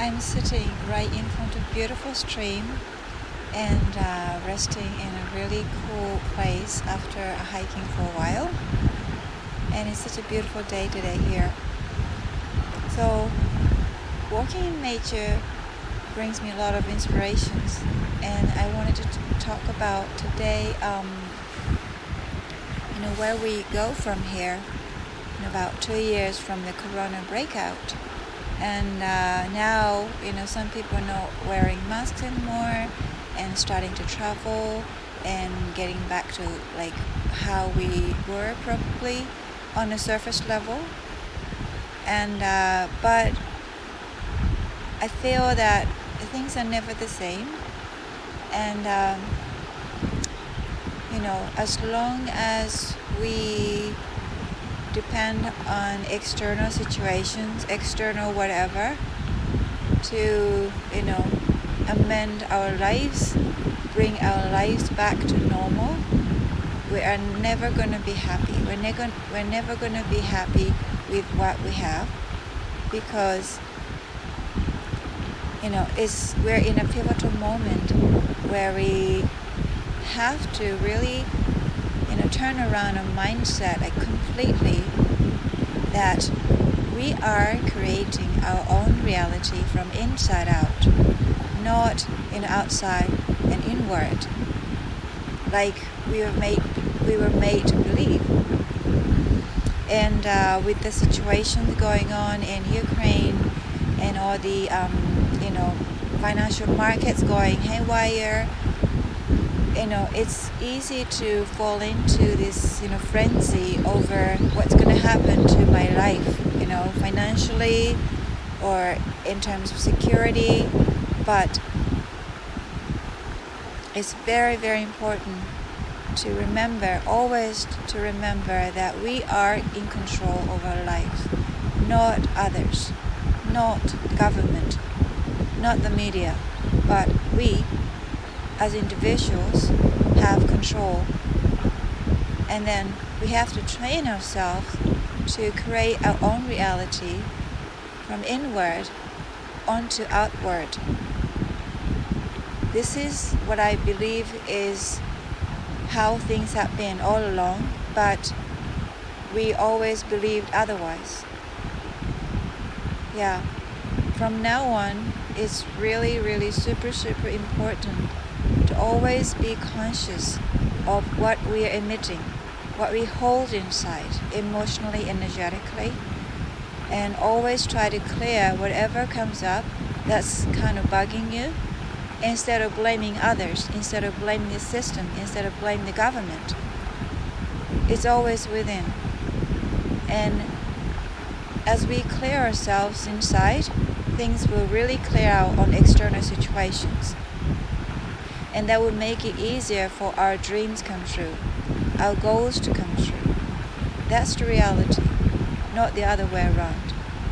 I'm sitting right in front of a beautiful stream and resting in a really cool place after hiking for a while. And it's such a beautiful day today here. So walking in nature brings me a lot of inspirations, and I wanted to talk about today where we go from here in about 2 years from the corona breakout. And now some people are not wearing masks anymore and starting to travel and getting back to like how we were probably on the surface level. And but I feel that things are never the same, and as long as we depend on external situations, external whatever, to amend our lives, bring our lives back to normal, we are never going to be happy. We're never going to be happy with what we have, because we're in a pivotal moment where we have to really turn around a mindset completely, that we are creating our own reality from inside out, not outside and inward, like we were made to believe. And with the situation going on in Ukraine and all the financial markets going haywire, it's easy to fall into this frenzy over what's going to happen to my life, financially or in terms of security. But it's very, very important to remember, always to remember, that we are in control of our lives, not others, not the government, not the media, but we as individuals have control. And then we have to train ourselves to create our own reality from inward onto outward. This is what I believe is how things have been all along, but we always believed otherwise. Yeah, from now on, it's really, really super, super important to always be conscious of what we are emitting, what we hold inside, emotionally, energetically, and always try to clear whatever comes up that's kind of bugging you, instead of blaming others, instead of blaming the system, instead of blaming the government. It's always within. And as we clear ourselves inside, things will really clear out on external situations. And that will make it easier for our dreams come true, our goals to come true. That's the reality, not the other way around.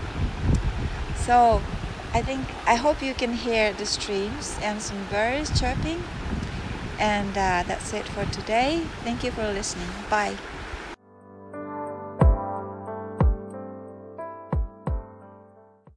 So I hope you can hear the streams and some birds chirping. And that's it for today. Thank you for listening. Bye.